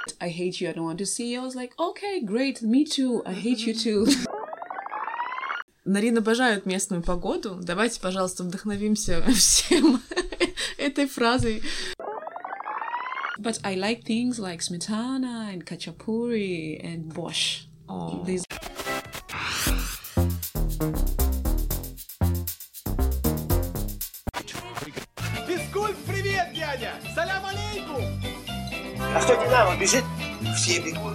I hate you, I don't want to see you. I was like, okay, great, me too, I hate you too. Нарин обожает местную погоду. Давайте, пожалуйста, вдохновимся всем этой фразой. But I like things like smetana and khachapuri and borscht. Oh. These... Физкульт, привет, дядя! Салям алейкум! А что Динамо бежит? Все бегут.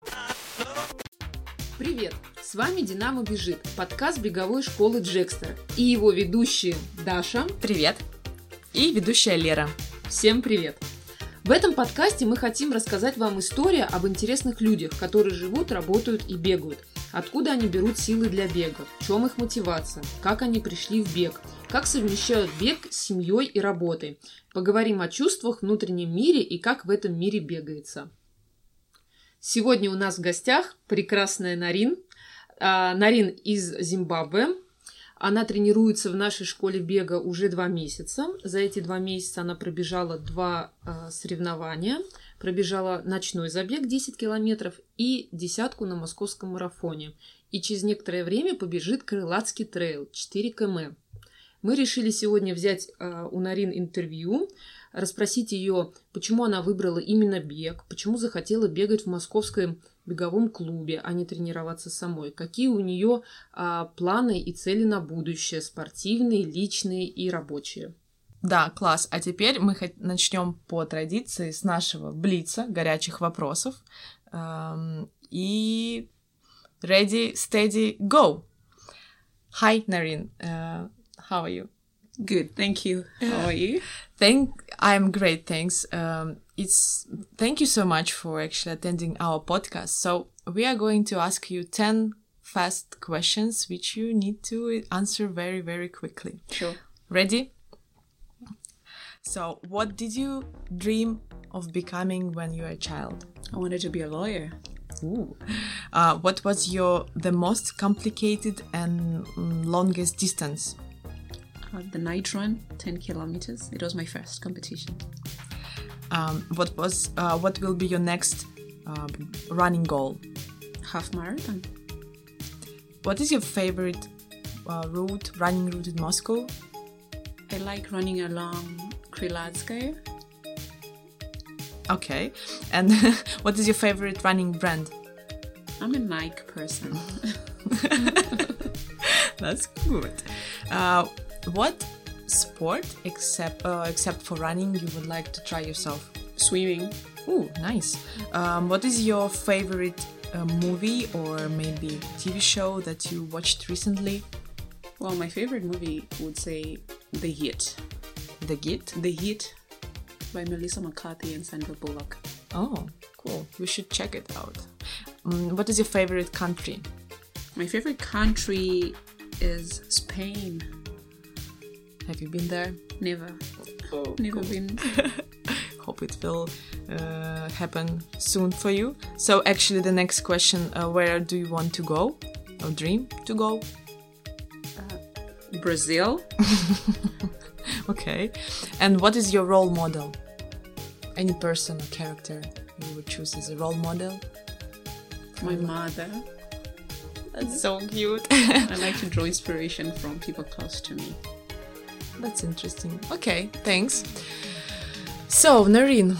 Привет! С вами «Динамо бежит», подкаст беговой школы Джекстера. И его ведущие Даша. Привет! И ведущая Лера. Всем привет! В этом подкасте мы хотим рассказать вам историю об интересных людях, которые живут, работают и бегают. Откуда они берут силы для бега, в чем их мотивация, как они пришли в бег, как совмещают бег с семьей и работой. Поговорим о чувствах, внутреннем мире и как в этом мире бегается. Сегодня у нас в гостях прекрасная Нарин. Нарин из Зимбабве. Она тренируется в нашей школе бега уже 2 месяца. За эти 2 месяца она пробежала 2 соревнования. Пробежала ночной забег 10 километров и 10 на московском марафоне. И через некоторое время побежит Крылатский трейл 4 км. Мы решили сегодня взять у Нарин интервью, расспросить ее, почему она выбрала именно бег, почему захотела бегать в московском беговом клубе, а не тренироваться самой, какие у нее планы и цели на будущее, спортивные, личные и рабочие. Да, класс. А теперь мы начнем по традиции с нашего блица, горячих вопросов. И ready, steady, go! Hi, Narин. How are you? Good, thank you. How are you? I'm great, thanks. Thank you so much for actually attending our podcast. So we are going to ask you 10 fast questions which you need to answer very, very quickly. Sure. Ready? So, what did you dream of becoming when you were a child? I wanted to be a lawyer. Ooh. What was the most complicated and longest distance? The night run, 10 kilometers. It was my first competition. What will be your next running goal? Half marathon. What is your favorite running route in Moscow? I like running along Krylatskaya. Okay. And what is your favorite running brand? I'm a Nike person. That's good. What sport, except for running, you would like to try yourself? Swimming. Ooh, nice. What is your favorite movie or maybe TV show that you watched recently? Well, my favorite movie would say The Heat. The Heat? The Heat by Melissa McCarthy and Sandra Bullock. Oh, cool. We should check it out. What is your favorite country? My favorite country is Spain. Have you been there? Never. Oh, Never cool. been. Hope it will happen soon for you. So actually the next question, where do you want to go or dream to go? Brazil. Okay. And what is your role model? Any person or character you would choose as a role model? My mother. That's so cute. I like to draw inspiration from people close to me. That's interesting. Okay, thanks. So, Nareen,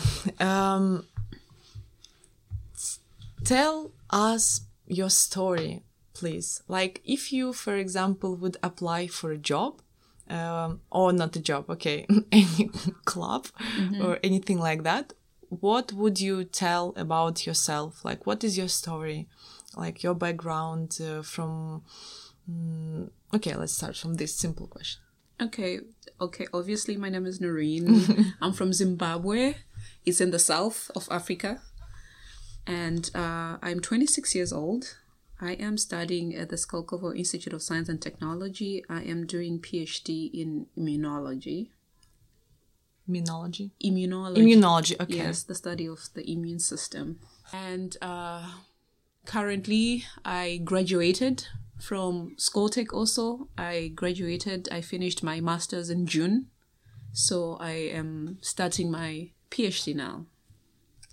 tell us your story, please. Like, if you, for example, would apply for a job, or not a job, okay, any club or anything like that, what would you tell about yourself? Like, what is your story? Like, your background from... Okay, let's start from this simple question. Okay. Obviously, my name is Nareen. I'm from Zimbabwe. It's in the south of Africa. And I'm 26 years old. I am studying at the Skolkovo Institute of Science and Technology. I am doing PhD in immunology. Immunology? Immunology, okay. Yes, the study of the immune system. And currently, I graduated from Skoltech also. I finished my master's in June. So I am starting my PhD now.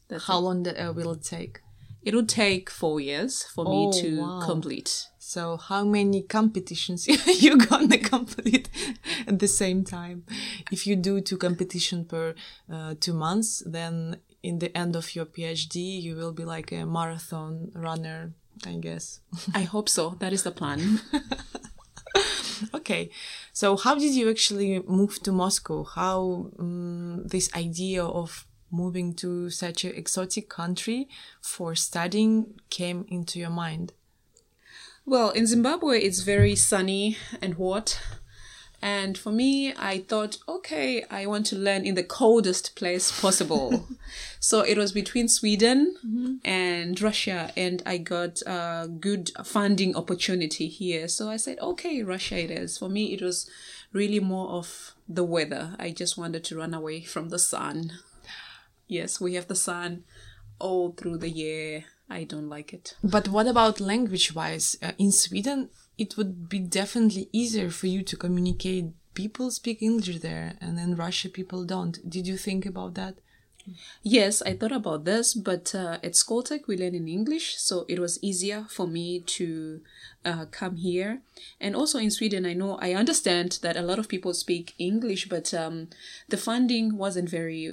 How long will it take? It would take 4 years for me to wow. complete. So how many competitions you gonna complete at the same time? If you do 2 competitions per 2 months, then in the end of your PhD, you will be like a marathon runner, I guess. I hope so. That is the plan. Okay. So how did you actually move to Moscow? How this idea of moving to such an exotic country for studying came into your mind? Well, in Zimbabwe, it's very sunny and hot. And for me, I thought, okay, I want to learn in the coldest place possible. So it was between Sweden and Russia, and I got a good funding opportunity here. So I said, okay, Russia it is. For me, it was really more of the weather. I just wanted to run away from the sun. Yes, we have the sun all through the year. I don't like it. But what about language-wise? In Sweden, it would be definitely easier for you to communicate. People speak English there, and in Russia, people don't. Did you think about that? Yes, I thought about this, but at Skoltech, we learn in English, so it was easier for me to come here. And also in Sweden, I understand that a lot of people speak English, but the funding wasn't very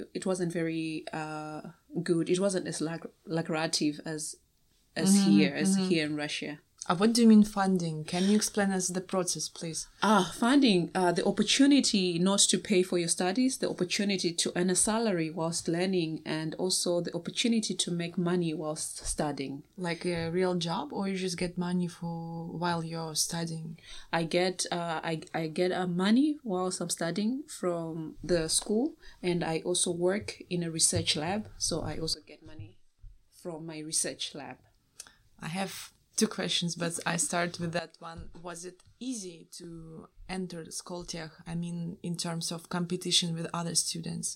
good. It wasn't as lucrative as here in Russia. What do you mean funding? Can you explain us the process, please? Funding, the opportunity not to pay for your studies, the opportunity to earn a salary whilst learning, and also the opportunity to make money whilst studying. Like a real job, or you just get money for while you're studying? I get money whilst I'm studying from the school, and I also work in a research lab, so I also get money from my research lab. I have 2 questions, but I start with that one. Was it easy to enter Skoltech? I mean, in terms of competition with other students?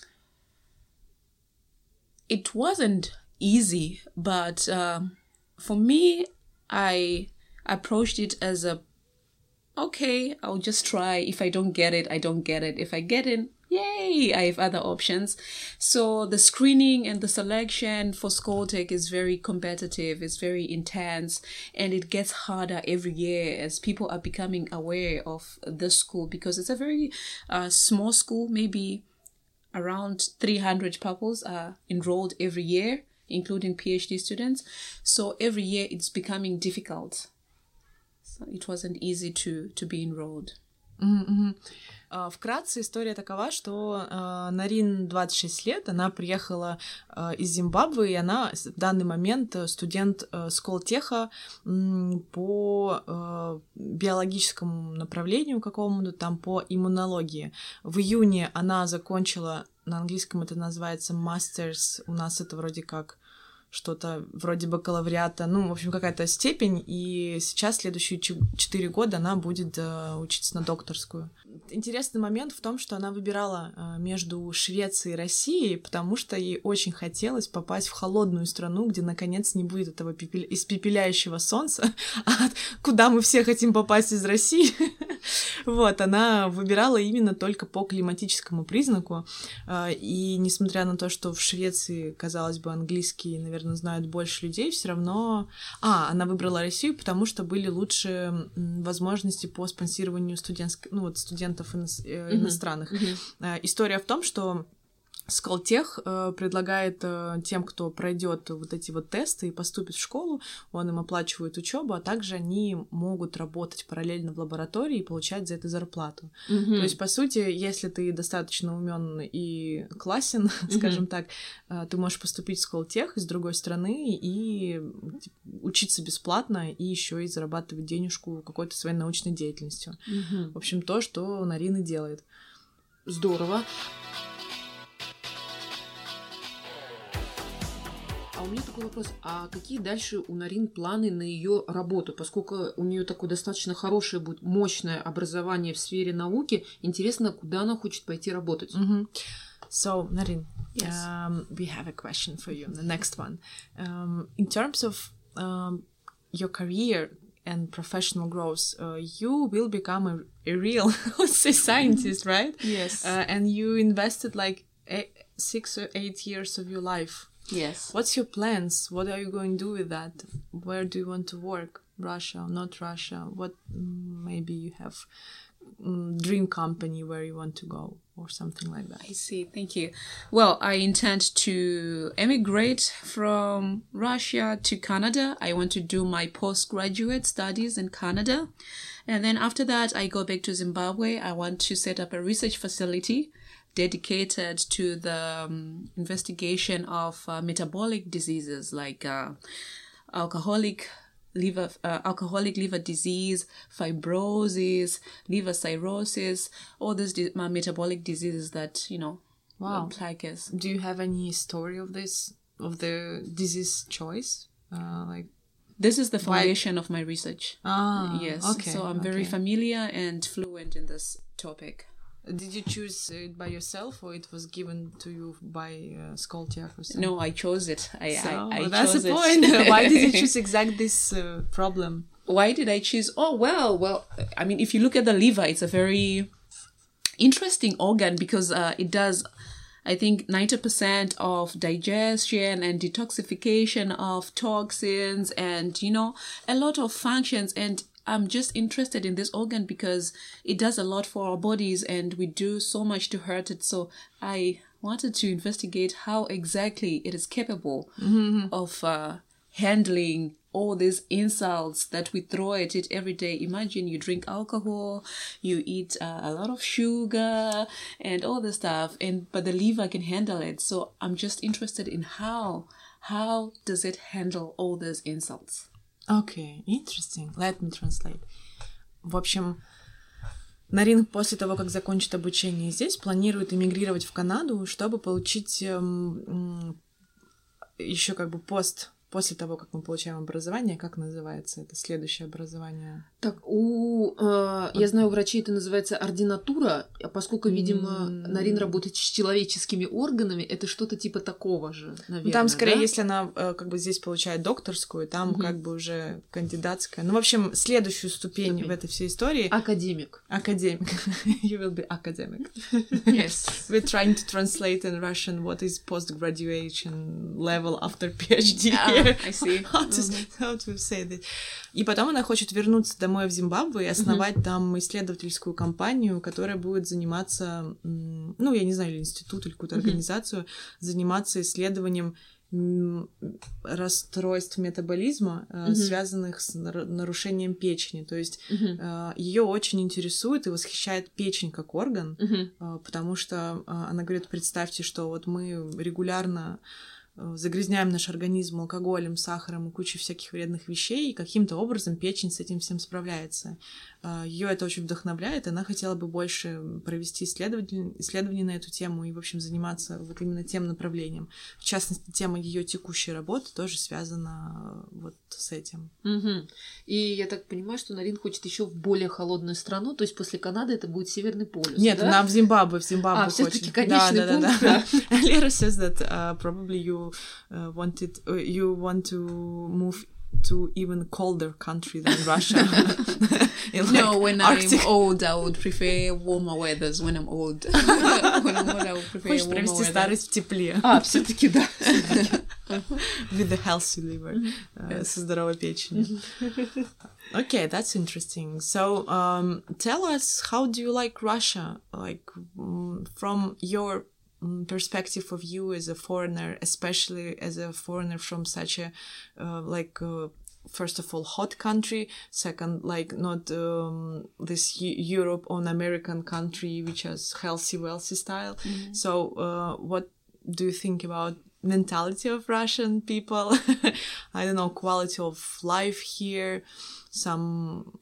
It wasn't easy, but for me, I approached it as okay, I'll just try. If I don't get it, I don't get it. If I get it, yay, I have other options. So the screening and the selection for Skoltech is very competitive, it's very intense, and it gets harder every year as people are becoming aware of the school, because it's a very small school. Maybe around 300 pupils are enrolled every year, including PhD students. So every year it's becoming difficult. So it wasn't easy to be enrolled. Mm-hmm. Вкратце история такова, что Нарин 26 лет, она приехала из Зимбабве, и она в данный момент студент Сколтеха по биологическому направлению какому-то, там по иммунологии. В июне она закончила, на английском это называется Masters, у нас это вроде как что-то вроде бакалавриата, в общем, какая-то степень, и сейчас следующие 4 года она будет учиться на докторскую. Интересный момент в том, что она выбирала между Швецией и Россией, потому что ей очень хотелось попасть в холодную страну, где, наконец, не будет этого испепеляющего солнца, куда мы все хотим попасть из России. Вот, она выбирала именно только по климатическому признаку, и несмотря на то, что в Швеции, казалось бы, английский, наверное, знают больше людей, все равно... она выбрала Россию, потому что были лучшие возможности по спонсированию студентов иностранных. История в том, что Сколтех предлагает тем, кто пройдет вот эти вот тесты и поступит в школу, он им оплачивает учебу, а также они могут работать параллельно в лаборатории и получать за это зарплату. То есть, по сути, если ты достаточно умен и классен, скажем так, ты можешь поступить в Сколтех из другой страны и учиться бесплатно и еще и зарабатывать денежку какой-то своей научной деятельностью. В общем, то, что Нарина делает. Здорово. А у меня такой вопрос, а какие дальше у Нарин планы на ее работу? Поскольку у нее такое достаточно хорошее, будет мощное образование в сфере науки, интересно, куда она хочет пойти работать? So, Narin, Yes. We have a question for you, the next one. In terms of your career and professional growth, you will become a real scientist, right? Yes. And you invested 6 or 8 years of your life. Yes. What's your plans? What are you going to do with that? Where do you want to work? Russia, not Russia? What maybe you have dream company where you want to go or something like that? I see. Thank you. Well, I intend to emigrate from Russia to Canada. I want to do my postgraduate studies in Canada. And then after that, I go back to Zimbabwe. I want to set up a research facility dedicated to the investigation of metabolic diseases like alcoholic liver disease, fibrosis, liver cirrhosis, all these metabolic diseases that, plague us. Do you have any story of this, of the disease choice? This is the foundation of my research. Yes. Okay. So I'm very familiar and fluent in this topic. Did you choose it by yourself, or it was given to you by Skoltiak or something? No, I chose it. That's the point. Why did you choose exactly this problem? Why did I choose? Oh, well, I mean, if you look at the liver, it's a very interesting organ because it does, I think, 90% of digestion and detoxification of toxins and, a lot of functions. And I'm just interested in this organ because it does a lot for our bodies and we do so much to hurt it. So I wanted to investigate how exactly it is capable of handling all these insults that we throw at it every day. Imagine you drink alcohol, you eat a lot of sugar and all this stuff, but the liver can handle it. So I'm just interested in how does it handle all these insults. Okay, interesting. Let me translate. В общем, Нарин после того, как закончит обучение здесь, планирует эмигрировать в Канаду, чтобы получить еще после того, как мы получаем образование, как называется это следующее образование? Так, я знаю, у врачей это называется ординатура, а поскольку, видимо, Нарин работает с человеческими органами, это что-то типа такого же, наверное. Там скорее, да? если она здесь получает докторскую, там уже кандидатская. Ну, в общем, следующую ступень в этой всей истории... Академик. You will be academic. Yes. We're trying to translate in Russian what is post-graduation level after PhD. I see. How to say that. И потом она хочет вернуться домой в Зимбабве и основать там исследовательскую компанию, которая будет заниматься, я не знаю, или институт, или какую-то организацию, заниматься исследованием расстройств метаболизма, связанных с нарушением печени. То есть ее очень интересует и восхищает печень как орган, потому что она говорит, представьте, что вот мы регулярно загрязняем наш организм алкоголем, сахаром и кучей всяких вредных вещей, и каким-то образом печень с этим всем справляется. Ее это очень вдохновляет, и она хотела бы больше провести исследования на эту тему и, в общем, заниматься вот именно тем направлением. В частности, тема ее текущей работы тоже связана вот с этим. И я так понимаю, что Нарин хочет еще в более холодную страну, то есть после Канады это будет Северный полюс. Нет, да? она в Зимбабве хочет. Все-таки конечный пункт. Да. Lera says that probably you want to move to even colder country than Russia. No, when Arctic. I'm old, I would prefer warmer weathers. When I'm old, I would prefer Хочешь warmer провести weather. старость в тепле. Все-таки да. With a healthy liver. Со здоровой печенью. Okay, that's interesting. So, tell us, how do you like Russia? Like, from your perspective of you as a foreigner, especially as a foreigner from such a first of all hot country, second not this Europe or American country which has healthy wealthy style. So what do you think about mentality of Russian people? I don't know, quality of life here, some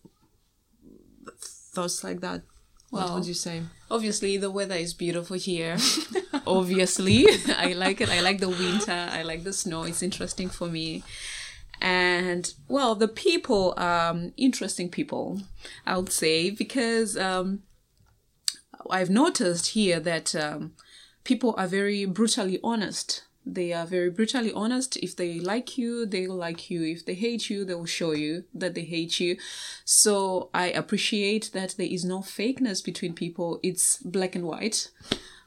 thoughts like that. What would you say? Obviously, the weather is beautiful here. Obviously, I like it. I like the winter. I like the snow. It's interesting for me. And, well, the people, interesting people, I would say, because I've noticed here that people are very brutally honest. They are very brutally honest. If they like you, they will like you. If they hate you, they will show you that they hate you. So I appreciate that there is no fakeness between people. It's black and white.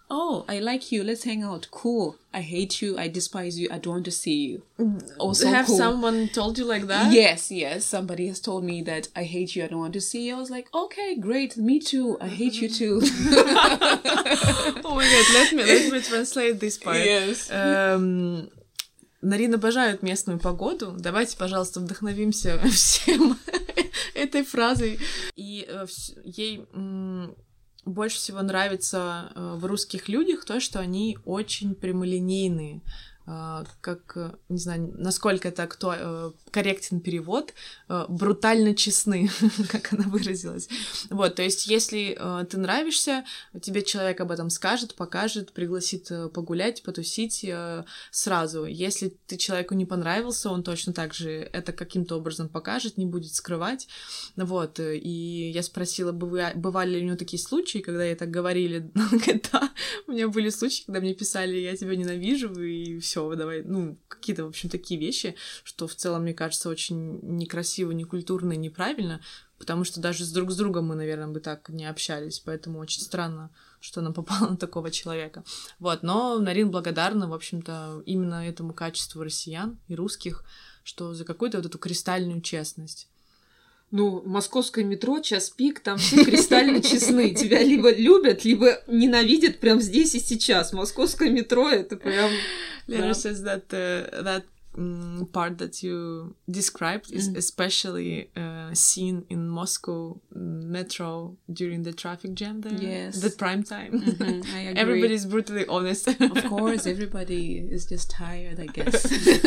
oh, I like you, let's hang out. Cool. I hate you, I despise you, I don't want to see you. Also Have cool. someone told you like that? Yes, somebody has told me that I hate you, I don't want to see you. I was like, okay, great, me too, I hate you too. Oh my god, let me translate this part. Yes. Нарин обожает местную погоду. Давайте, пожалуйста, вдохновимся всем этой фразой. И ей больше всего нравится в русских людях то, что они очень прямолинейные. Как, не знаю, насколько это корректен перевод, брутально честны, как она выразилась. Вот, то есть, если ты нравишься, тебе человек об этом скажет, покажет, пригласит погулять, потусить сразу. Если ты человеку не понравился, он точно так же это каким-то образом покажет, не будет скрывать. Вот, и я спросила, бывали ли у него такие случаи, когда ей так говорили. Да, у меня были случаи, когда мне писали, я тебя ненавижу, и все. Давай, какие-то, в общем, такие вещи, что в целом, мне кажется, очень некрасиво, некультурно и неправильно, потому что даже друг с другом мы, наверное, бы так не общались, поэтому очень странно, что она попала на такого человека. Вот, но Нарин благодарна, в общем-то, именно этому качеству россиян и русских, что за какую-то вот эту кристальную честность. Московское метро, час пик, там все кристально честны. Тебя либо любят, либо ненавидят прямо здесь и сейчас. Московское метро — это прям... Lena says that that part that you described is especially seen in Moscow metro during the traffic jam there. Yes. The prime time. I agree. Everybody is brutally honest. Of course, everybody is just tired, I guess.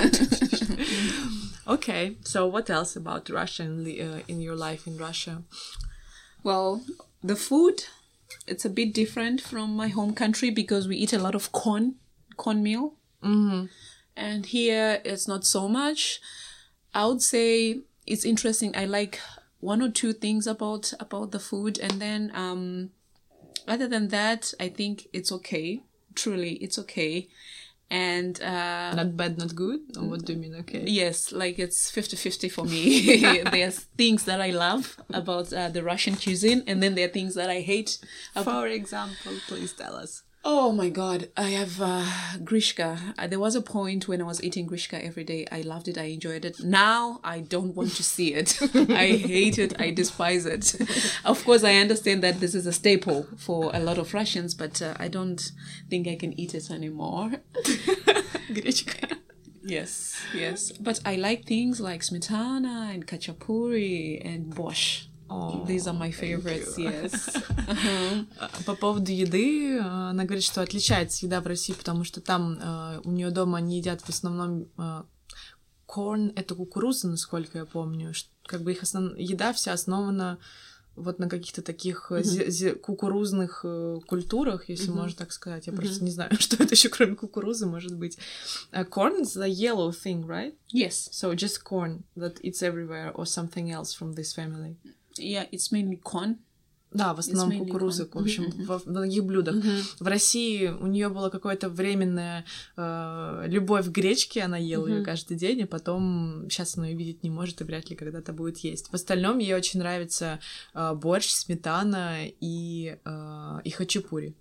Okay, so what else about Russia in your life in Russia? Well, the food, it's a bit different from my home country because we eat a lot of cornmeal. Mm-hmm. And here it's not so much. I would say it's interesting. I like one or two things about the food, and then other than that, I think it's okay. Truly, it's okay. And not bad, not good? Or what do you mean, okay? Yes, like it's 50-50 for me. There's things that I love about the Russian cuisine, and then there are things that I hate. For example, please tell us. Oh my god, I have Grishka. There was a point when I was eating Grishka every day. I loved it, I enjoyed it. Now I don't want to see it. I hate it, I despise it. Of course, I understand that this is a staple for a lot of Russians, but I don't think I can eat it anymore. Grishka. Yes. But I like things like smetana and khachapuri and borscht. Oh, these are my favorites, yes. По поводу еды, она говорит, что отличается еда в России, потому что там у нее дома они едят в основном корн, это кукуруза, насколько я помню, как бы их еда вся основана вот на каких-то таких кукурузных культурах, если можно так сказать. Я просто не знаю, что это еще кроме кукурузы может быть. Corn is the yellow thing, right? Yes. So just corn that it's everywhere or something else from this family. Yeah, it's mainly corn. Да, в основном кукуруза, в общем, в многих блюдах. В России у нее было какое-то временная любовь к гречке, она ела ее каждый день, и потом сейчас она ее видеть не может и вряд ли когда-то будет есть. В остальном ей очень нравится борщ, сметана и хачапури.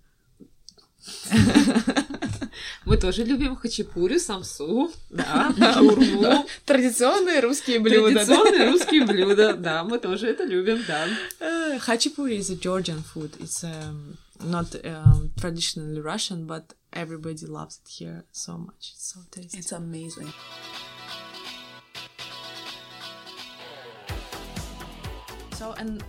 Мы тоже любим хачапури, самсу, да, шаурму. Традиционные русские блюда. Традиционные русские блюда, да, мы тоже это любим, да. Хачапури is a Georgian food. It's not traditionally Russian, but everybody loves it here so much. It's so tasty. It's amazing. So, and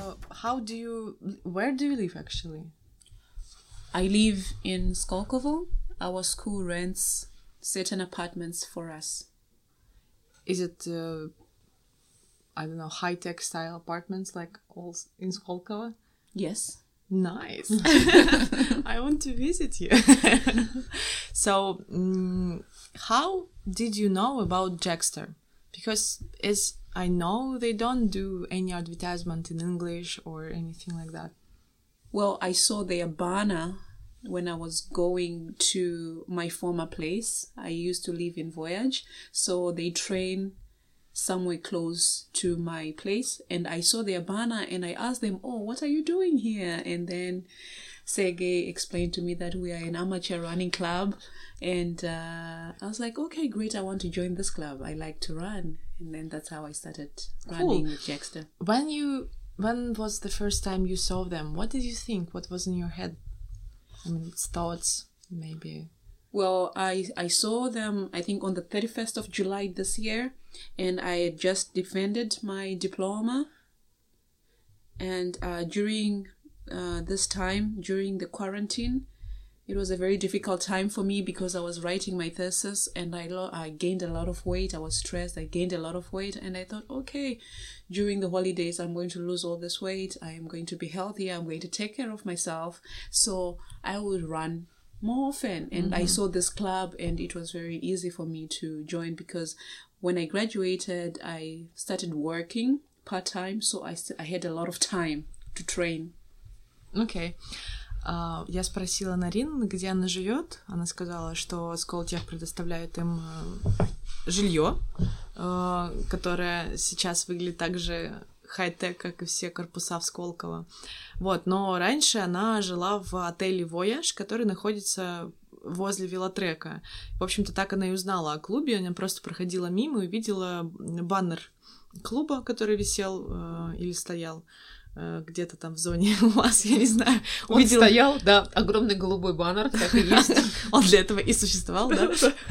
where do you live actually? I live in Skolkovo. Our school rents certain apartments for us. Is it, I don't know, high-tech style apartments like all in Skolkovo? Yes. Nice. I want to visit you. So, how did you know about Jackster? Because as I know, they don't do any advertisement in English or anything like that. Well, I saw their banner when I was going to my former place. I used to live in Voyage, so they train somewhere close to my place, and I saw their banner and I asked them, oh, what are you doing here? And then Sergey explained to me that we are an amateur running club. And I was like, okay, great, I want to join this club. I like to run. And then that's how I started running with Jackster. When was the first time you saw them? What did you think? What was in your head? I mean, thoughts, maybe. Well, I saw them, I think, on the 31st of July this year. And I had just defended my diploma. And during this time, during the quarantine, it was a very difficult time for me because I was writing my thesis and I gained a lot of weight. I was stressed. I gained a lot of weight. And I thought, okay, during the holidays, I'm going to lose all this weight. I am going to be healthy. I'm going to take care of myself. So I would run more often. And I saw this club and it was very easy for me to join because when I graduated, I started working part-time. So I had a lot of time to train. Okay. Я спросила Нарин, где она живет. Она сказала, что Сколтех предоставляет им жилье, которое сейчас выглядит так же хай-тек, как и все корпуса в Сколково. Вот, но раньше она жила в отеле Voyage, который находится возле велотрека. В общем-то, так она и узнала о клубе. Она просто проходила мимо и увидела баннер клуба, который висел или стоял где-то там в зоне у вас, я не знаю. Он стоял, да, огромный голубой баннер, так и есть. Он для этого и существовал, да?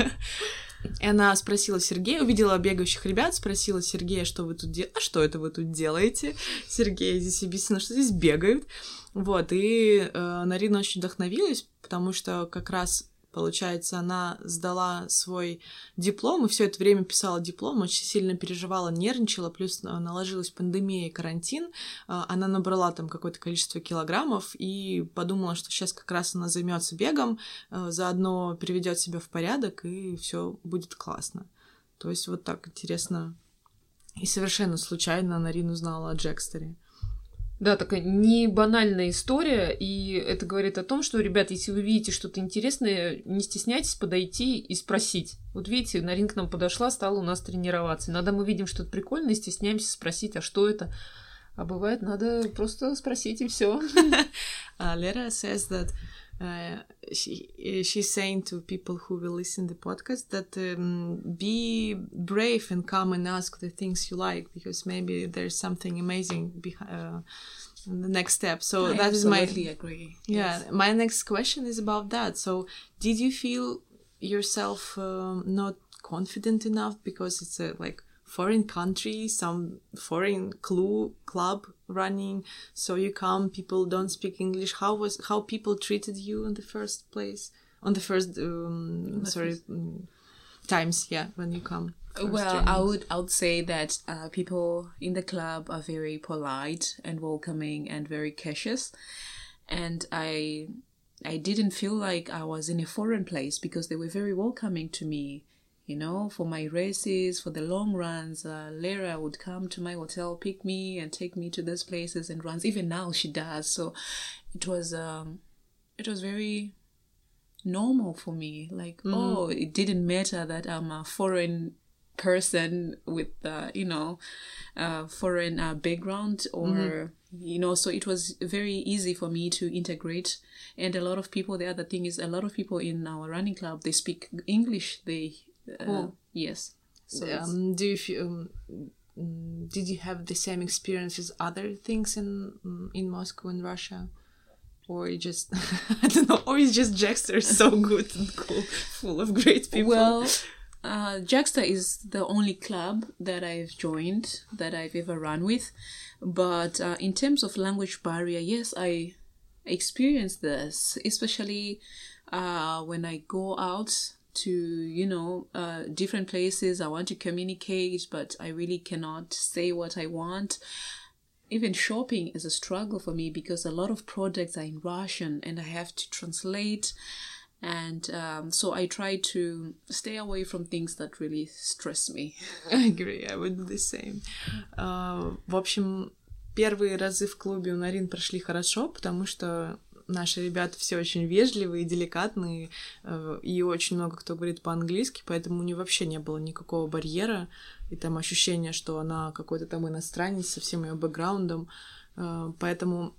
И она спросила Сергея, увидела бегающих ребят, спросила Сергея, что вы тут делаете? А что это вы тут делаете? Сергей здесь объяснил, что здесь бегают. Вот, и Нарина очень вдохновилась, потому что как раз, получается, она сдала свой диплом и все это время писала диплом, очень сильно переживала, нервничала, плюс наложилась пандемия и карантин. Она набрала там какое-то количество килограммов и подумала, что сейчас как раз она займется бегом, заодно приведет себя в порядок и все будет классно. То есть вот так интересно. И совершенно случайно Нарина узнала о Джекстере. Да, такая не банальная история, и это говорит о том, что, ребят, если вы видите что-то интересное, не стесняйтесь подойти и спросить. Вот видите, Нарин к нам подошла, стала у нас тренироваться. Иногда мы видим что-то прикольное, стесняемся спросить, а что это? А бывает, надо просто спросить, и все. Lera says that she's saying to people who will listen to the podcast that be brave and come and ask the things you like, because maybe there's something amazing behind the next step. So I that is my absolutely agree. Yeah, Yes. my next question is about that. So did you feel yourself not confident enough because it's a like foreign country, some foreign club running, so you come, people don't speak English? How people treated you in the first place, on the first times, yeah, when you come? Well, I would say that people in the club are very polite and welcoming and very cautious, and I didn't feel like I was in a foreign place because they were very welcoming to me. You know, for my races, for the long runs, Lera would come to my hotel, pick me and take me to those places and runs. Even now she does. So it was very normal for me. Like, oh, it didn't matter that I'm a foreign person with, foreign background or, so it was very easy for me to integrate. And a lot of people, the other thing is a lot of people in our running club, they speak English. Yes. So do you feel, did you have the same experience as other things in Moscow and Russia, or you just I don't know, or is just Jackster so good and cool, full of great people? Well, Jackster is the only club that I've joined, that I've ever run with, but in terms of language barrier, yes, I experienced this, especially when I go out to different places. I want to communicate, but I really cannot say what I want. Even shopping is a struggle for me because a lot of products are in Russian and I have to translate, and so I try to stay away from things that really stress me. I agree, I would do the same. В общем, первые разы в клубе у Нарин прошли хорошо, потому что наши ребята все очень вежливые, деликатные, и очень много кто говорит по-английски, поэтому у нее вообще не было никакого барьера, и там ощущение, что она какой-то там иностранец со всем ее бэкграундом, поэтому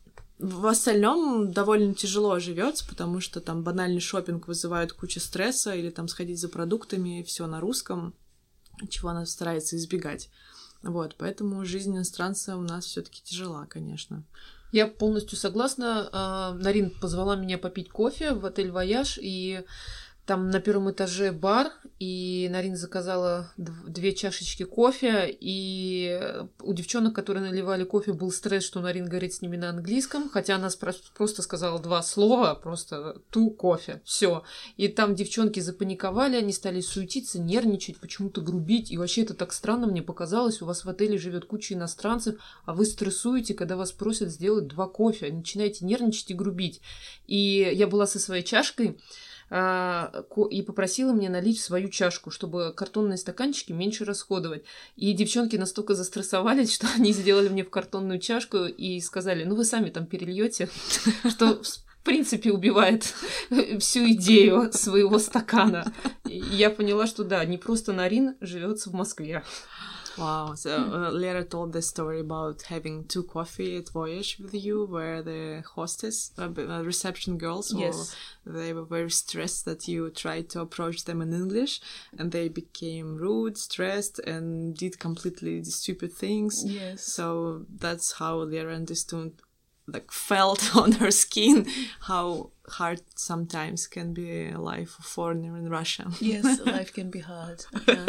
В остальном довольно тяжело живется, потому что там банальный шопинг вызывает кучу стресса, или там сходить за продуктами, все на русском, чего она старается избегать. Вот, поэтому жизнь иностранца у нас все-таки тяжела, конечно. Я полностью согласна. Нарин позвала меня попить кофе в отель «Вояж», и там на первом этаже бар, и Нарин заказала 2 чашечки кофе, и у девчонок, которые наливали кофе, был стресс, что Нарин говорит с ними на английском, хотя она просто сказала 2 слова, просто «ту кофе», все. И там девчонки запаниковали, они стали суетиться, нервничать, почему-то грубить, и вообще это так странно мне показалось, у вас в отеле живет куча иностранцев, а вы стрессуете, когда вас просят сделать 2 кофе, начинаете нервничать и грубить. И я была со своей чашкой, и попросила мне налить в свою чашку, чтобы картонные стаканчики меньше расходовать. И девчонки настолько застрессовались, что они сделали мне в картонную чашку и сказали, ну вы сами там перельете, что в принципе убивает всю идею своего стакана. И я поняла, что да, не просто Нарин живется в Москве. Wow, so Lera told the story about having 2 coffee at Voyage with you, where the hostess, reception girls, Yes. they were very stressed that you tried to approach them in English, and they became rude, stressed, and did completely stupid things. Yes. So that's how Lera understood, like, felt on her skin how hard sometimes can be a life of foreigner in Russia. Yes, life can be hard.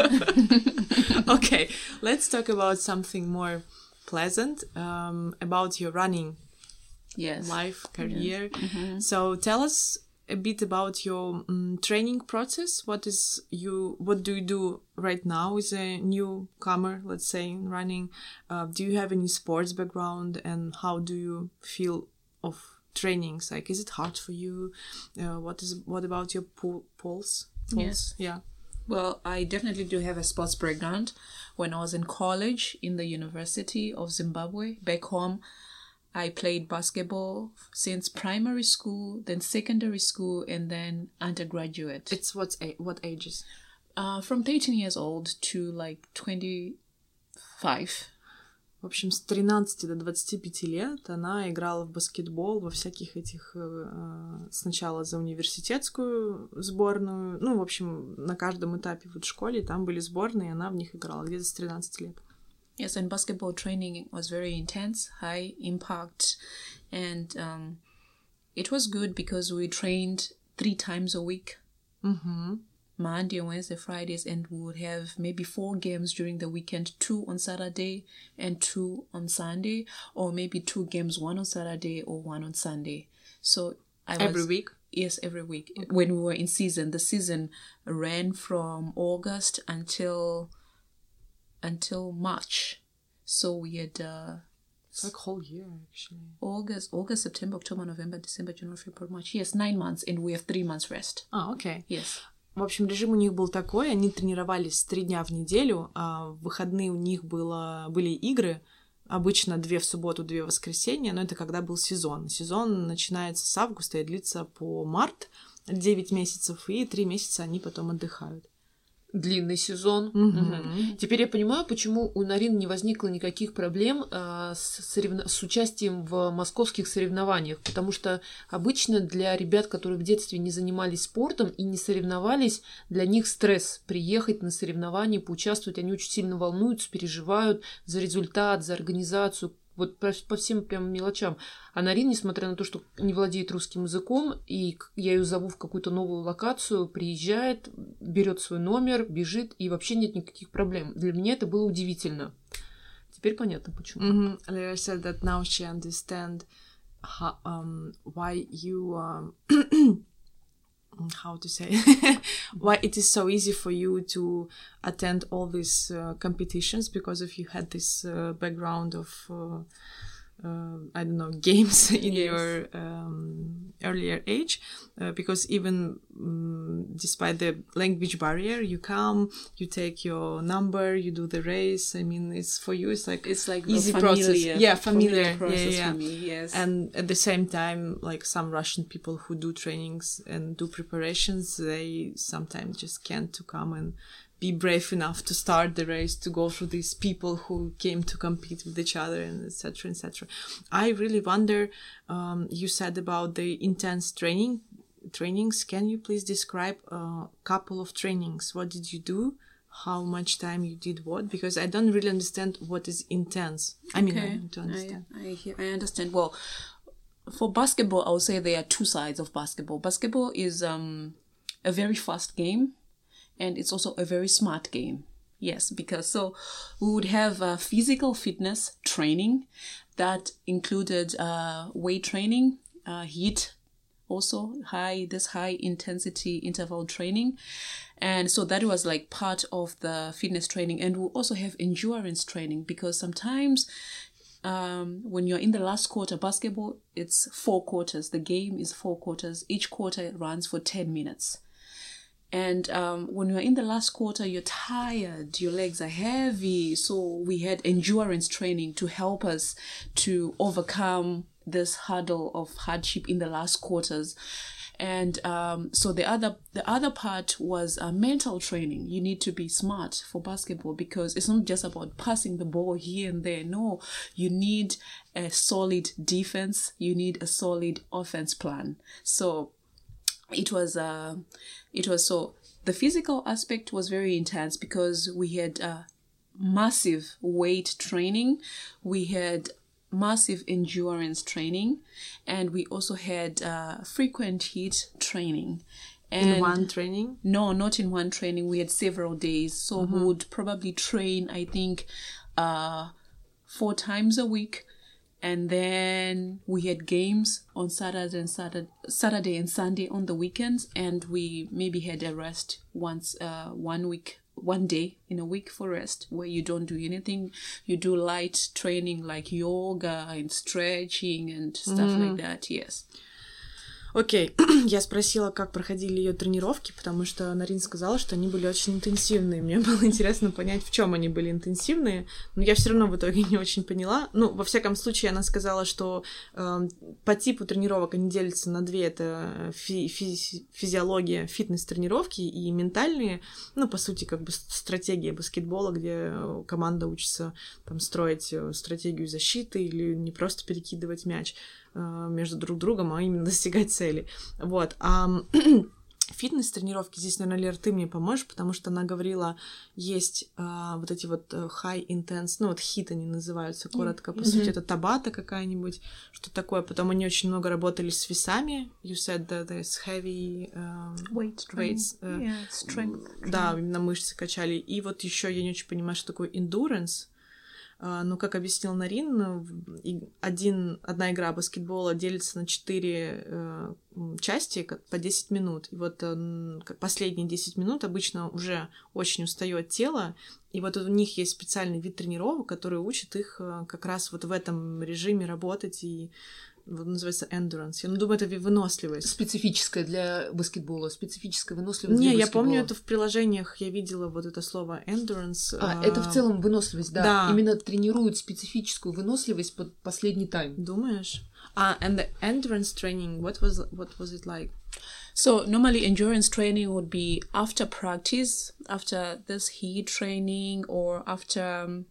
Okay, let's talk about something more pleasant, about your running Yes. life, career. So tell us a bit about your training process. What do you do right now as a newcomer, let's say, in running? Do you have any sports background, and how do you feel of trainings? Like, is it hard for you? What about your pulse? Yes. Yeah. Well, I definitely do have a sports background. When I was in college in the University of Zimbabwe, back home, I played basketball since primary school, then secondary school, and then undergraduate. It's what ages? From 13 years old to like 25. В общем, с 13 до 25 лет она играла в баскетбол во всяких этих... Сначала за университетскую сборную. Ну, в общем, на каждом этапе в школе там были сборные, и она в них играла где-то с 13 лет. Yes, and basketball training was very intense, high impact, and it was good because we trained 3 times a week. Monday, Wednesday, Fridays, and we would have maybe 4 games during the weekend, 2 on Saturday and 2 on Sunday, or maybe 2 games, 1 on Saturday or 1 on Sunday. So Every week? Yes, every week. Okay. When we were in season, the season ran from August until March. So we had it's like whole year, actually. August, September, October, November, December, January, February, March. Yes, 9 months, and we have 3 months rest. Okay. Yes. В общем, режим у них был такой, они тренировались 3 дня в неделю, а в выходные у них были игры, обычно 2 в субботу, 2 в воскресенье, но это когда был сезон. Сезон начинается с августа и длится по март, 9 месяцев, и 3 месяца они потом отдыхают. Длинный сезон. Теперь я понимаю, почему у Нарин не возникло никаких проблем с участием в московских соревнованиях, потому что обычно для ребят, которые в детстве не занимались спортом и не соревновались, для них стресс приехать на соревнования, поучаствовать, они очень сильно волнуются, переживают за результат, за организацию, вот по всем прям мелочам. А Нарин, несмотря на то, что не владеет русским языком, и я ее зову в какую-то новую локацию, приезжает, берет свой номер, бежит, и вообще нет никаких проблем. Для меня это было удивительно. Теперь понятно, почему. Lera said that now she understands why you... how to say why it is so easy for you to attend all these competitions, because if you had this background of I don't know, games in your earlier age, because even despite the language barrier, you come, you take your number, you do the race. I mean, it's for you, it's like easy process. Yeah, familiar process for me, yes. And at the same time, like some Russian people who do trainings and do preparations, they sometimes just can't to come and be brave enough to start the race, to go through these people who came to compete with each other, and etc., etc. I really wonder, you said about the intense trainings. Can you please describe a couple of trainings? What did you do? How much time you did what? Because I don't really understand what is intense. I mean, I need to understand. I understand. Well, for basketball, I would say there are two sides of basketball. Basketball is a very fast game, and it's also a very smart game. Yes, because so we would have physical fitness training that included weight training, HIIT, also high intensity interval training. And so that was like part of the fitness training. And we also have endurance training, because sometimes when you're in the last quarter, basketball, it's 4 quarters. The game is 4 quarters. Each quarter runs for 10 minutes. And when you're in the last quarter, you're tired, your legs are heavy. So we had endurance training to help us to overcome this hurdle of hardship in the last quarters. And so the other part was mental training. You need to be smart for basketball, because it's not just about passing the ball here and there. No, you need a solid defense. You need a solid offense plan. So it was so the physical aspect was very intense, because we had massive weight training. We had massive endurance training, and we also had frequent HIIT training. And in one training? No, not in one training. We had several days. So we would probably train, I think, 4 times a week. And then we had games on Saturday and Sunday on the weekends. And we maybe had a rest once, 1 day in a week for rest, where you don't do anything. You do light training like yoga and stretching and stuff like that. Yes. Окей, я спросила, как проходили ее тренировки, потому что Нарин сказала, что они были очень интенсивные. Мне было интересно понять, в чем они были интенсивные, но я все равно в итоге не очень поняла. Ну, во всяком случае, она сказала, что по типу тренировок они делятся на 2. Это физиология, фитнес-тренировки и ментальные. Ну, по сути, как бы стратегия баскетбола, где команда учится там строить стратегию защиты или не просто перекидывать мяч между друг другом, а именно достигать цели. Вот. А фитнес-тренировки, здесь, наверное, Лер, ты мне поможешь, потому что она говорила, есть вот эти вот high intense, ну вот HIIT они называются коротко, по сути, это табата какая-нибудь, что такое. Потом они очень много работали с весами. You said that there's heavy weights. Strength. Да, именно мышцы качали. И вот еще я не очень понимаю, что такое endurance. Но, как объяснил Нарин, одна игра баскетбола делится на 4 части по 10 минут. И вот последние 10 минут обычно уже очень устает тело. И вот у них есть специальный вид тренировок, который учит их как раз вот в этом режиме работать, и вот называется endurance. Я думаю, это выносливость. Специфическая для баскетбола, специфическая выносливость Не, для я баскетбола. помню, это в приложениях я видела вот это слово endurance. Это в целом выносливость, да. Именно тренируют специфическую выносливость под последний тайм. Думаешь? And the endurance training, what was it like? So normally endurance training would be after practice, after this HIIT training, or after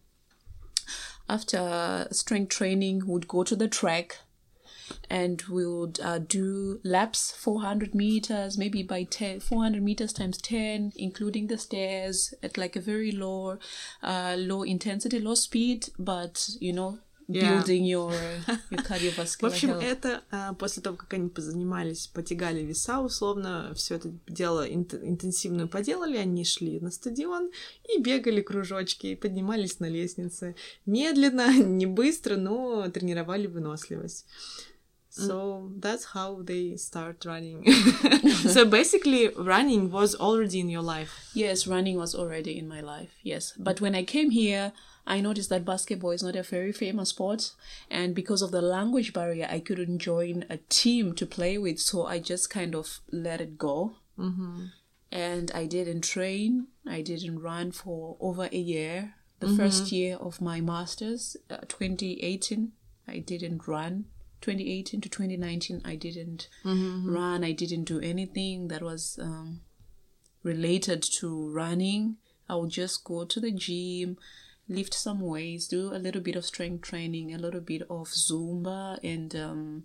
strength training, would go to the track. And we would do laps, 400 meters, maybe by 400 meters times 10, including the stairs, at like a very low intensity, low speed, but, you know, building your cardiovascular В общем, health. это после того, как они позанимались, потягали веса, условно, все это дело интенсивно поделали, они шли на стадион и бегали кружочки, и поднимались на лестнице. Медленно, не быстро, но тренировали выносливость. So that's how they start running. So basically, running was already in your life. Yes, running was already in my life, yes. But when I came here, I noticed that basketball is not a very famous sport. And because of the language barrier, I couldn't join a team to play with. So I just kind of let it go. Mm-hmm. And I didn't train. I didn't run for over a year. The first year of my master's, 2018, I didn't run. 2018 to 2019, I didn't run. I didn't do anything that was related to running. I would just go to the gym, lift some weights, do a little bit of strength training, a little bit of Zumba and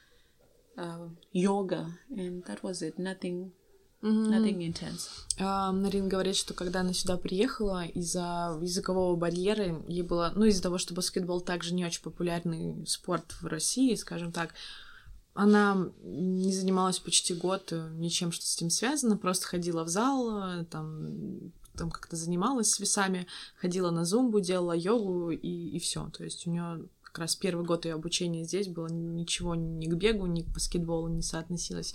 yoga, and that was it. Nothing intense. Нарин говорит, что когда она сюда приехала, из-за языкового барьера ей было, из-за того, что баскетбол также не очень популярный спорт в России, скажем так, она не занималась почти год ничем, что с этим связано, просто ходила в зал, там как-то занималась с весами, ходила на зумбу, делала йогу и все. То есть у нее как раз первый год ее обучения здесь было, ничего ни к бегу, ни к баскетболу не соотносилось.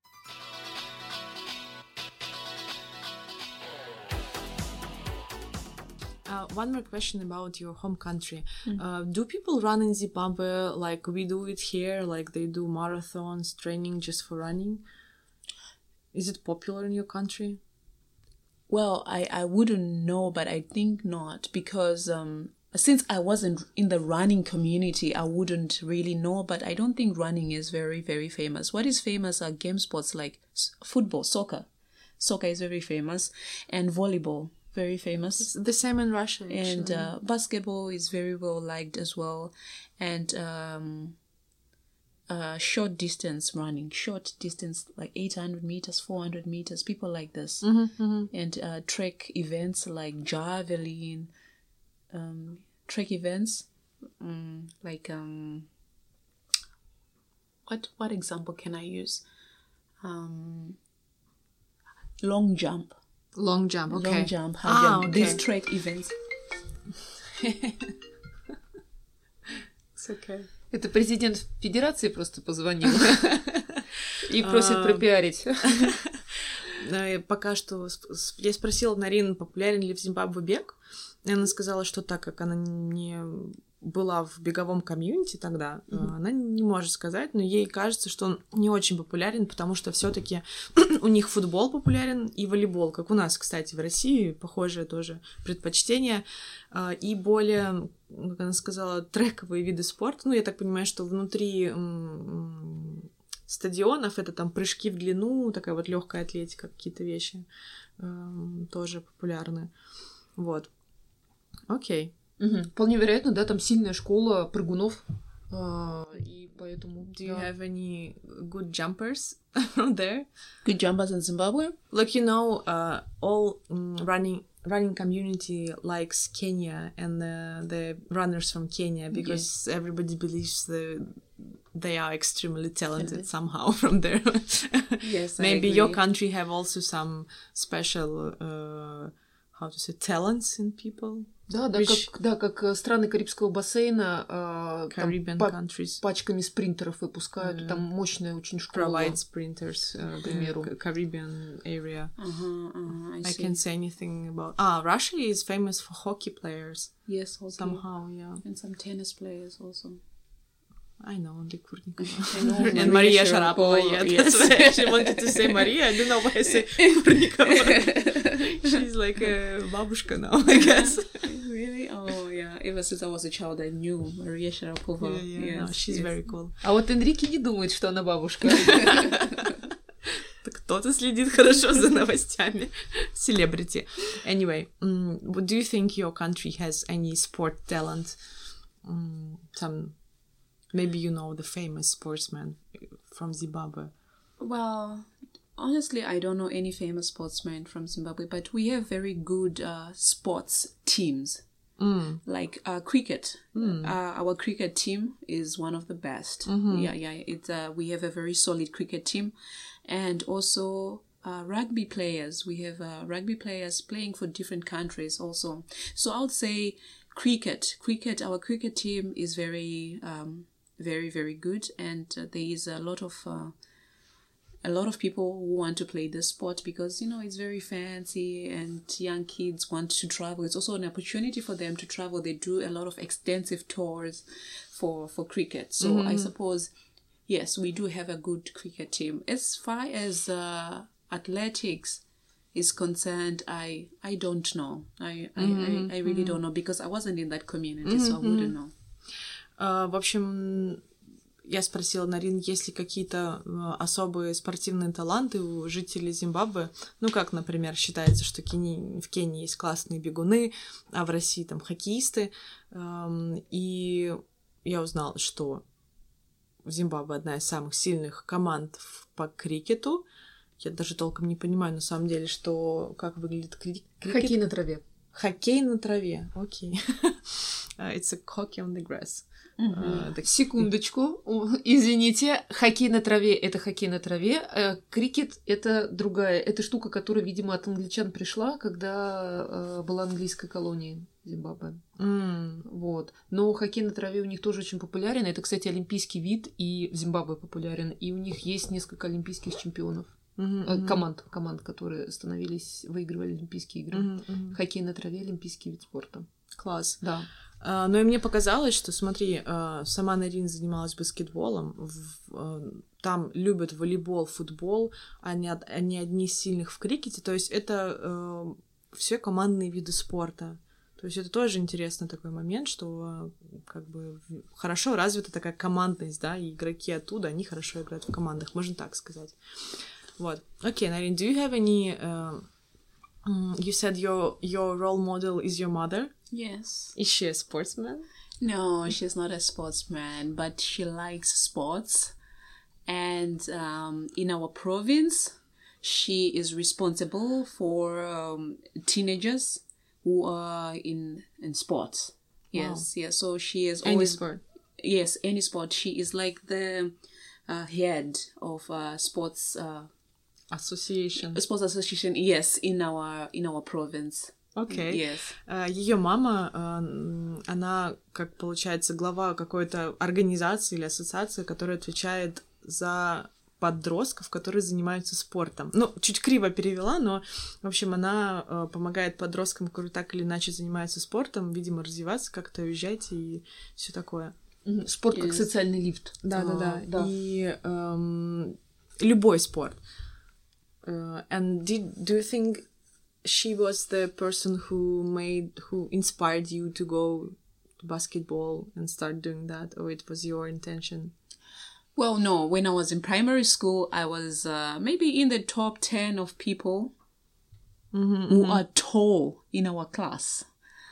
One more question about your home country. Do people run in Zimbabwe like we do it here, like they do marathons, training just for running? Is it popular in your country? Well, I wouldn't know, but I think not, because since I wasn't in the running community, I wouldn't really know, but I don't think running is very, very famous. What is famous are game sports like football, soccer. Soccer is very famous, and volleyball. Very famous. It's the same in Russia, actually. And basketball is very well liked as well. And short distance running, like 800 meters, 400 meters, people like this. And track events like javelin, track events like what example can I use? Long jump. Long jump, okay. Long jump, high jump. Okay. These track events. It's okay. Это президент Федерации просто позвонил и просит пропиарить. Пока что я спросила Нарин, популярен ли в Зимбабве бег, и она сказала, что так как она не была в беговом комьюнити тогда, она не может сказать, но ей кажется, что он не очень популярен, потому что все-таки у них футбол популярен и волейбол, как у нас, кстати, в России, похожее тоже предпочтение, и более, как она сказала, трековые виды спорта. Я так понимаю, что внутри стадионов это там прыжки в длину, такая вот легкая атлетика, какие-то вещи тоже популярны. Вот. Окей. Вполне вероятно, да, там сильная школа прыгунов, и поэтому... Do you have any good jumpers from there? Good jumpers in Zimbabwe? Like, all running community likes Kenya and the runners from Kenya, because everybody believes they are extremely talented somehow from there. Yes, Maybe your country have also some special, talents in people? Да, как страны Карибского бассейна Caribbean countries пачками спринтеров выпускают, там мощная очень школа. Provide sprinters, к примеру. Caribbean area. I can't say anything about... Russia is famous for hockey players. Yes, hockey. Somehow, yeah. And some tennis players also. I know only Kurnikova. And Maria Sharapova, That's why she wanted to say Maria. I don't know why I say Kurnikova. She's like a babushka now, I guess. Really? Oh, yeah. Ever since I was a child, I knew Maria Sharapova. Yeah, no, she's very cool. А вот Энрике не думает, что она бабушка. Кто-то следит хорошо за новостями. Celebrity. Anyway, do you think your country has any sport talent? Maybe you know the famous sportsman from Zimbabwe. Well, honestly, I don't know any famous sportsmen from Zimbabwe, but we have very good sports teams. Like cricket. Our cricket team is one of the best. We have a very solid cricket team. And also rugby players. We have rugby players playing for different countries also. So I would say cricket. Our cricket team is very... very, very good, and there is a lot of people who want to play this sport because it's very fancy and young kids want to travel. It's also an opportunity for them to travel. They do a lot of extensive tours for cricket. So I suppose yes, we do have a good cricket team. As far as athletics is concerned, I don't know. I really don't know because I wasn't in that community, so I wouldn't know. В общем, я спросила Нарин, есть ли какие-то особые спортивные таланты у жителей Зимбабве. Ну, как, например, считается, что в Кении есть классные бегуны, а в России там хоккеисты. И я узнала, что в Зимбабве одна из самых сильных команд по крикету. Я даже толком не понимаю, на самом деле, как выглядит крикет. Хоккей на траве. Хоккей на траве, окей. It's a hockey on the grass. Секундочку, извините, хоккей на траве — это хоккей на траве, крикет — это другая, это штука, которая, видимо, от англичан пришла, когда была английская колония Зимбабве. Вот. Но хоккей на траве у них тоже очень популярен, это, кстати, олимпийский вид, и в Зимбабве популярен, и у них есть несколько олимпийских чемпионов. Команд, которые выигрывали Олимпийские игры. Хоккей на траве — олимпийский вид спорта. Класс. Да. Но и мне показалось, что, смотри, сама Нарин занималась баскетболом, там любят волейбол, футбол, они одни из сильных в крикете, то есть это все командные виды спорта. То есть это тоже интересный такой момент, что как бы хорошо развита такая командность, да, и игроки оттуда, они хорошо играют в командах, можно так сказать. Вот. Окей, Нарин, do you have any... you said your role model is your mother? Yes. Is she a sportsman? No, she's not a sportsman, but she likes sports. And in our province, she is responsible for teenagers who are in sports. Yes, wow. Yes. So she is any always... sport? Yes, any sport. She is like the head of sports... Association. Sports association, yes, in our province. Окей. Yes. Ее мама, она, как получается, глава какой-то организации или ассоциации, которая отвечает за подростков, которые занимаются спортом. Ну, чуть криво перевела, но, в общем, она помогает подросткам, которые так или иначе занимаются спортом, видимо, развиваться, как-то уезжать и все такое. Спорт как социальный лифт. Да. И любой спорт. And do you think she was the person who inspired you to go to basketball and start doing that, or it was your intention? Well, no. When I was in primary school, I was maybe in the top 10 of people who are tall in our class.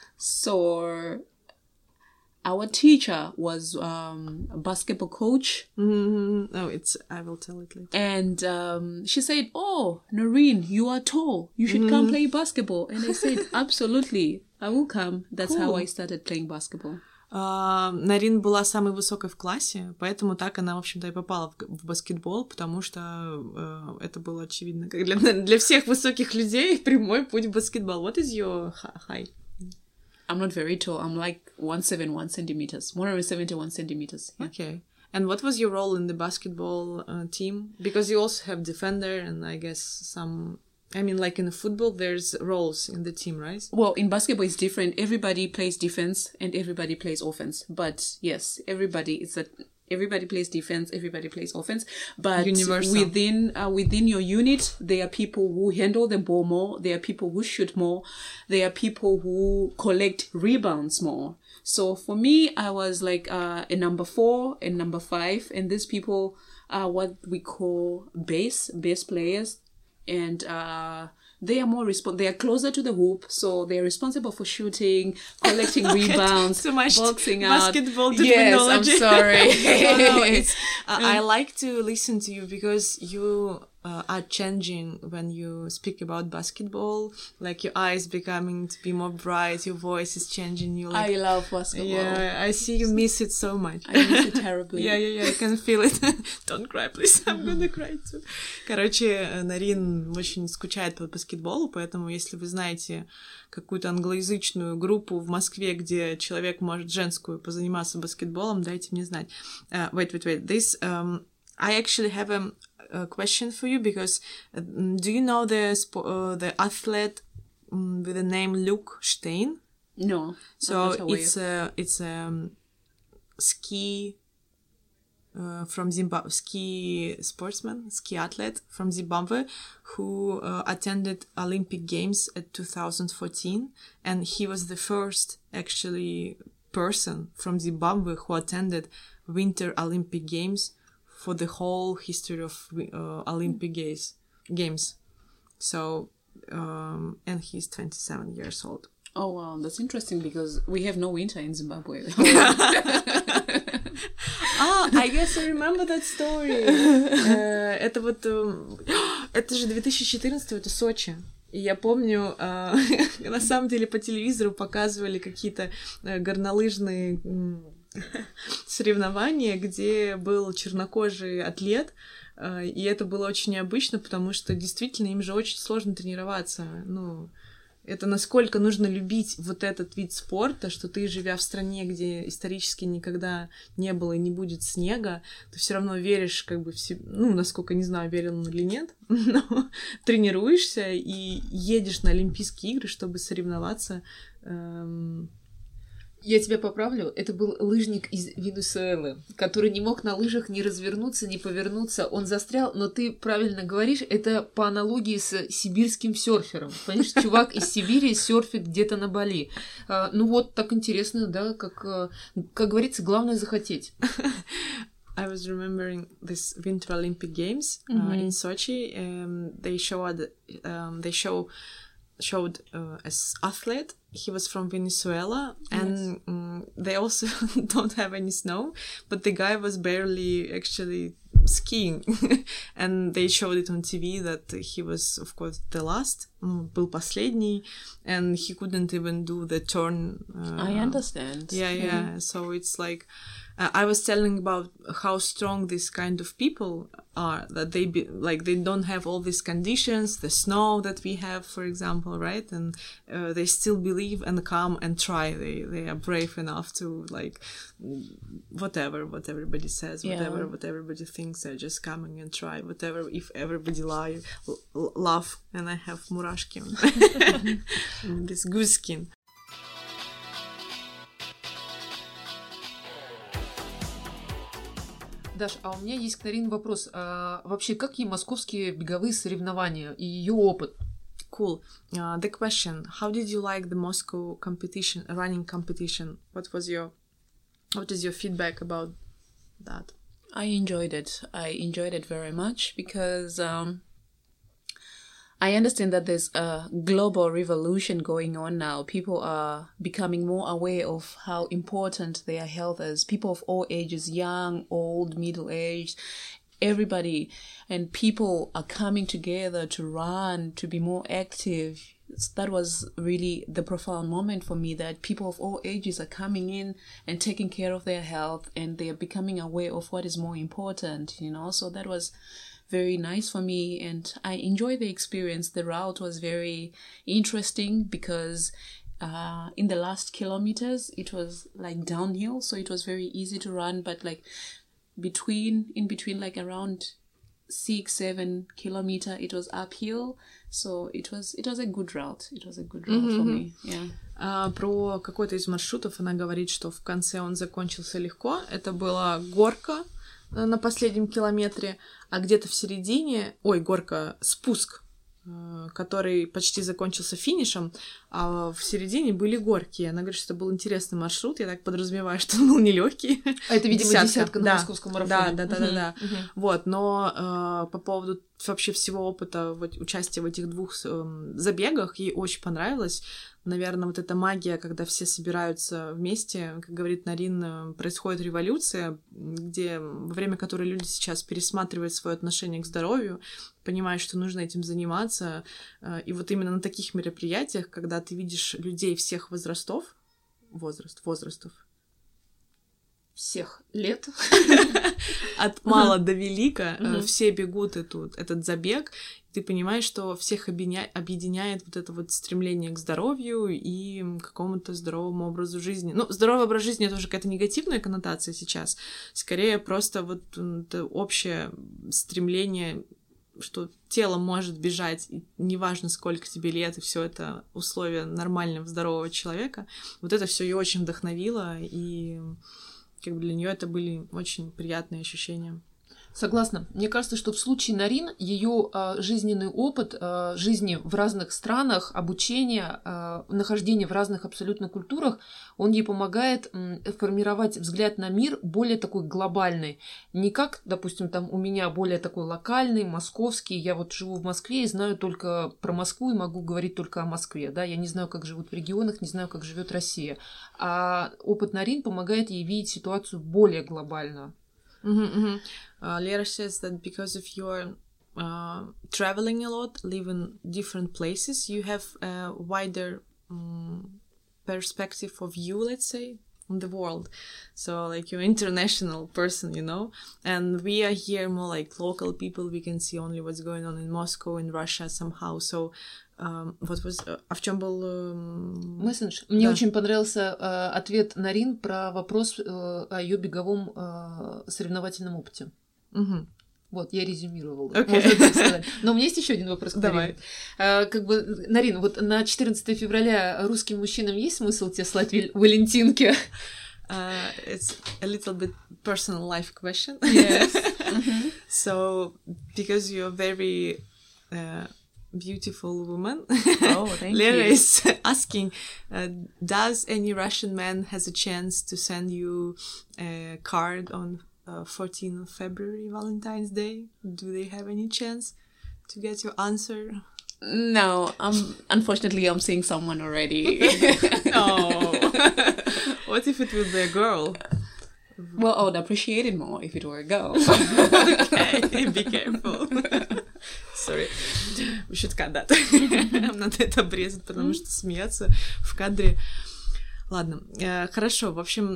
So our teacher was a basketball coach. Oh, I will tell it later. And she said, "Oh, Noreen, you are tall. You should come play basketball." And I said, "Absolutely, I will come." That's how I started playing basketball. Нарин была самой высокой в классе, поэтому так она, в общем-то, и попала в баскетбол, потому что это было очевидно. Как для всех высоких людей прямой путь в баскетбол. What is your height? I'm not very tall. I'm like 171 centimeters. 171 centimeters. Yeah. Okay. And what was your role in the basketball team? Because you also have defender and I guess like in the football, there's roles in the team, right? Well, in basketball, it's different. Everybody plays defense and everybody plays offense. But yes, everybody plays defense, everybody plays offense. But universal. Within your unit, there are people who handle the ball more. There are people who shoot more. There are people who collect rebounds more. So for me, I was like a number 4 and number 5. And these people are what we call base players. And they are more they are closer to the hoop, so they are responsible for shooting, collecting rebounds, so much boxing out. Basketball terminology. Yes, I'm sorry. I like to listen to you because you are changing when you speak about basketball. Like your eyes becoming to be more bright, your voice is changing. I love basketball. Yeah, I see you miss it so much. I miss it terribly. Yeah, I can feel it. Don't cry, please. I'm gonna cry too. Короче, Нарин очень скучает по баскетболу, поэтому если вы знаете какую-то англоязычную группу в Москве, где человек может женскую позаниматься баскетболом, дайте мне знать. Wait. This, I actually have a question for you because do you know the athlete with the name Luke Stein? No. So it's a ski from Zimbabwe, ski athlete from Zimbabwe who attended Olympic Games at 2014, and he was the first actually person from Zimbabwe who attended Winter Olympic Games for the whole history of Olympic Games. So, and he's 27 years old. Oh, wow, that's interesting because we have no winter in Zimbabwe. I guess I remember that story. Это вот... Это же 2014, это Сочи. И я помню, на самом деле по телевизору показывали какие-то горнолыжные соревнования, где был чернокожий атлет, и это было очень необычно, потому что действительно им же очень сложно тренироваться. Ну, это насколько нужно любить вот этот вид спорта, что ты, живя в стране, где исторически никогда не было и не будет снега, ты все равно веришь как бы в себя, ну, насколько, не знаю, верил он или нет, но тренируешься и едешь на Олимпийские игры, чтобы соревноваться. Я тебя поправлю, это был лыжник из Венесуэлы, который не мог на лыжах ни развернуться, ни повернуться, он застрял, но ты правильно говоришь, это по аналогии с сибирским серфером. Понимаешь, чувак из Сибири серфит где-то на Бали. Ну вот, так интересно, да, как говорится, главное захотеть. I was remembering this Winter Olympic Games in Sochi. They showed as athlete. He was from Venezuela, and they also don't have any snow, but the guy was barely actually skiing. And they showed it on TV that he was, of course, the last, был последний, and he couldn't even do the turn. I understand. Yeah. So it's like, I was telling about how strong this kind of people are, that they they don't have all these conditions, the snow that we have, for example, right? And they still believe and come and try. They are brave enough to, like, whatever what everybody says, whatever what everybody thinks, they're just coming and try whatever. If everybody laugh, and I have murashki on this goose skin. Даш, а у меня есть к Нарине вопрос. Вообще, какие московские беговые соревнования и ее опыт? Cool. The question: how did you like the Moscow competition, running competition? What is your feedback about that? I enjoyed it. I enjoyed it very much because I understand that there's a global revolution going on now. People are becoming more aware of how important their health is. People of all ages, young, old, middle-aged, everybody. And people are coming together to run, to be more active. That was really the profound moment for me, that people of all ages are coming in and taking care of their health, and they are becoming aware of what is more important, you know. So that was very nice for me, and I enjoyed the experience. The route was very interesting because in the last kilometers it was like downhill, so it was very easy to run, but like in between like around 6-7 kilometers it was uphill, so it was a good route. It was a good route for me. Yeah. Про какой-то из маршрутов она говорит, что в конце он закончился легко. Это была горка на последнем километре, а где-то в середине... спуск, который почти закончился финишем, а в середине были горки. Она говорит, что это был интересный маршрут. Я так подразумеваю, что он был нелегкий. А это, видимо, десятка на московском марафоне. Да. Вот, но по поводу вообще всего опыта участия в этих двух забегах ей очень понравилось. Наверное, вот эта магия, когда все собираются вместе, как говорит Нарин, происходит революция, во время которой люди сейчас пересматривают свое отношение к здоровью, понимают, что нужно этим заниматься. И вот именно на таких мероприятиях, когда ты видишь людей всех возрастов, всех лет, от мала до велика, все бегут этот забег, ты понимаешь, что всех объединяет вот это вот стремление к здоровью и к какому-то здоровому образу жизни. Ну, здоровый образ жизни — это уже какая-то негативная коннотация сейчас. Скорее, просто вот это общее стремление, что тело может бежать, и неважно, сколько тебе лет, и все это условия нормального, здорового человека. Вот это все ее очень вдохновило, и как бы для нее это были очень приятные ощущения. Согласна. Мне кажется, что в случае Нарин ее жизненный опыт жизни в разных странах, обучение, нахождение в разных абсолютно культурах, он ей помогает формировать взгляд на мир более такой глобальный. Не как, допустим, там у меня более такой локальный, московский. Я вот живу в Москве и знаю только про Москву и могу говорить только о Москве. Да? Я не знаю, как живут в регионах, не знаю, как живет Россия. А опыт Нарин помогает ей видеть ситуацию более глобально. Lera says that because of your traveling a lot, live in different places, you have a wider perspective of you, let's say, on the world. So, like, you're an international person, you know, and we are here more like local people. We can see only what's going on in Moscow, in Russia somehow. So, what was... А в чем был... Мессендж. Мне очень понравился ответ Нарин про вопрос о ее беговом соревновательном опыте. Вот, я резюмировала. Можно так сказать. Но у меня есть еще один вопрос. Давай. Как бы, Нарин, вот на 14 февраля русским мужчинам есть смысл тебе слать валентинки? It's a little bit personal life question. Yes. So, because you're very beautiful woman, thank Lera you. is asking, does any Russian man has a chance to send you a card on 14th of February, Valentine's Day? Do they have any chance to get your answer? No, unfortunately, I'm seeing someone already. Oh. What if it would be a girl? Well, I would appreciate it more if it were a girl. Okay, be careful. Sorry. We should cut that. Надо это обрезать, потому что смеяться в кадре. Ладно, хорошо. В общем,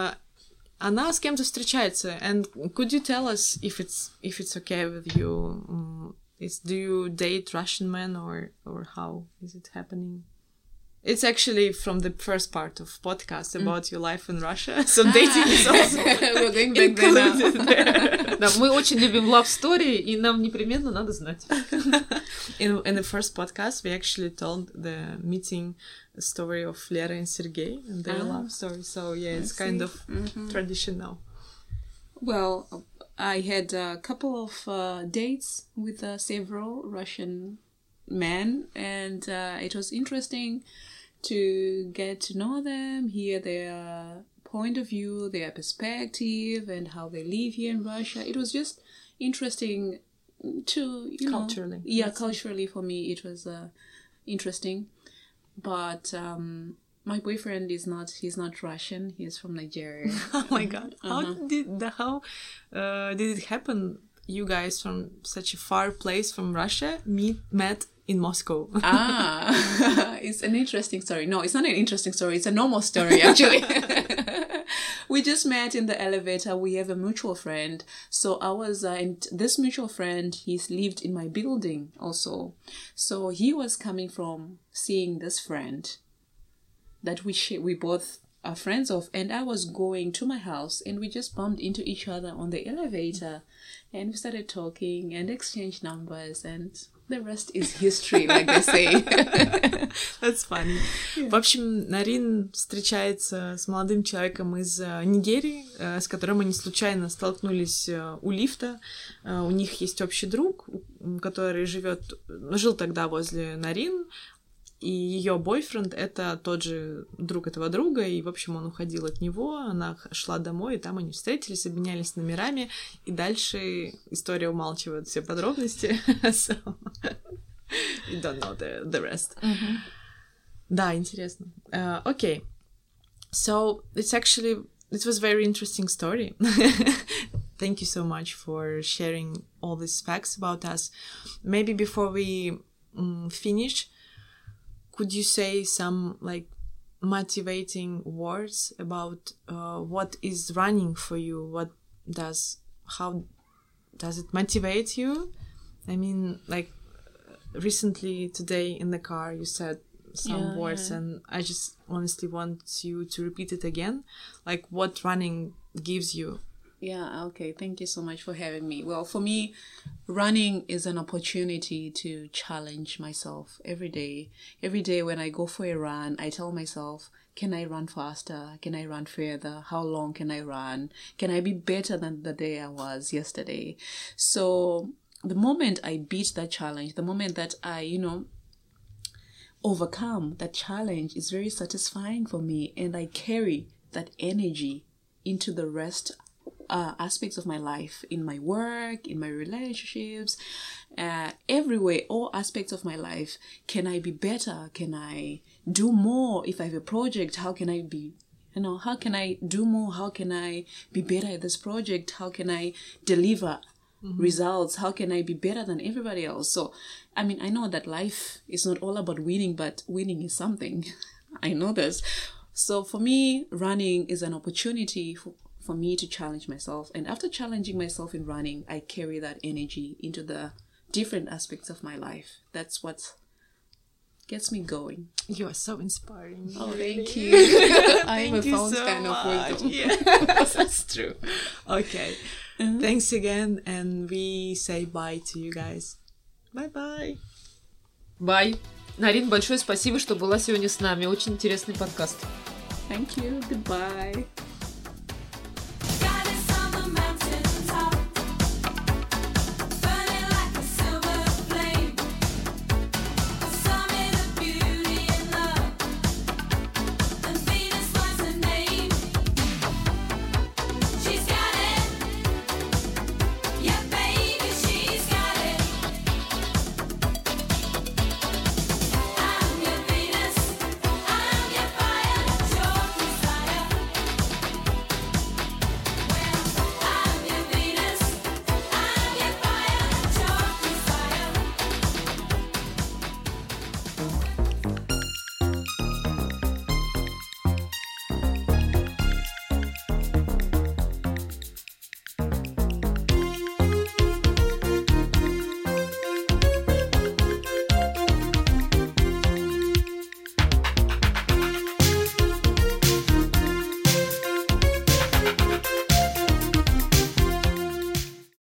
она с кем-то встречается. And could you tell us if it's okay with you? Do you date Russian men or how is it happening? It's actually from the first part of podcast about your life in Russia. So dating is also We're going back there now. Да, мы очень любим love story, и нам непременно надо знать. In the first podcast, we actually told the meeting story of Lera and Sergey and their love story. So yeah, it's kind of tradition now. Well, I had a couple of dates with several Russian men, and it was interesting to get to know them, hear their point of view, their perspective, and how they live here in Russia. It was just interesting to, Culturally. Culturally for me it was interesting. But my boyfriend he's not Russian, he's from Nigeria. Oh my god. How did it happen? You guys from such a far place from Russia met in Moscow. It's an interesting story. No, it's not an interesting story. It's a normal story, actually. We just met in the elevator. We have a mutual friend. So I was, and this mutual friend, he's lived in my building also. So he was coming from seeing this friend that we both are friends of. And I was going to my house and we just bumped into each other on the elevator. And we started talking and exchanged numbers and the rest is history, like they say. That's funny. Yeah. В общем, Нарин встречается с молодым человеком из Нигерии, с которым они случайно столкнулись у лифта. У них есть общий друг, который жил тогда возле Нарин, и ее бойфренд — это тот же друг этого друга, и, в общем, он уходил от него, она шла домой, и там они встретились, обменялись номерами, и дальше история умалчивает все подробности. So, you don't know the rest. Да, интересно. Okay. So, it was very interesting story. Thank you so much for sharing all these facts about us. Maybe before we finish, could you say some like motivating words about what is running for you? How does it motivate you? I mean, like recently today in the car you said some words and I just honestly want you to repeat it again. Like what running gives you Yeah, okay. Thank you so much for having me. Well, for me, running is an opportunity to challenge myself every day. Every day when I go for a run, I tell myself, can I run faster? Can I run further? How long can I run? Can I be better than the day I was yesterday? So the moment I beat that challenge, the moment that I, overcome that challenge is very satisfying for me, and I carry that energy into the rest aspects of my life, in my work, in my relationships, everywhere, all aspects of my life. Can I be better? Can I do more? If I have a project, how can I be, how can I do more? How can I be better at this project? How can I deliver results? How can I be better than everybody else? So, I know that life is not all about winning, but winning is something. I know this. So for me, running is an opportunity for me to challenge myself. And after challenging myself in running, I carry that energy into the different aspects of my life. That's what gets me going. You are so inspiring. Oh, thank you. I'm a fountain of wisdom. Yeah, that's true. Okay. Thanks again, and we say bye to you guys. Bye-bye. Bye. Нарин, большое спасибо, что была сегодня с нами. Очень интересный подкаст. Thank you. Goodbye.